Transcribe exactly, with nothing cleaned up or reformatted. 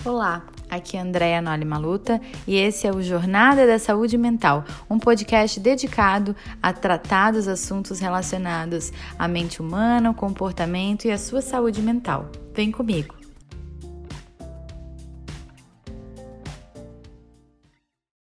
Olá, aqui é Andréa Noli Maluta e esse é o Jornada da Saúde Mental, um podcast dedicado a tratar dos assuntos relacionados à mente humana, o comportamento e a sua saúde mental. Vem comigo!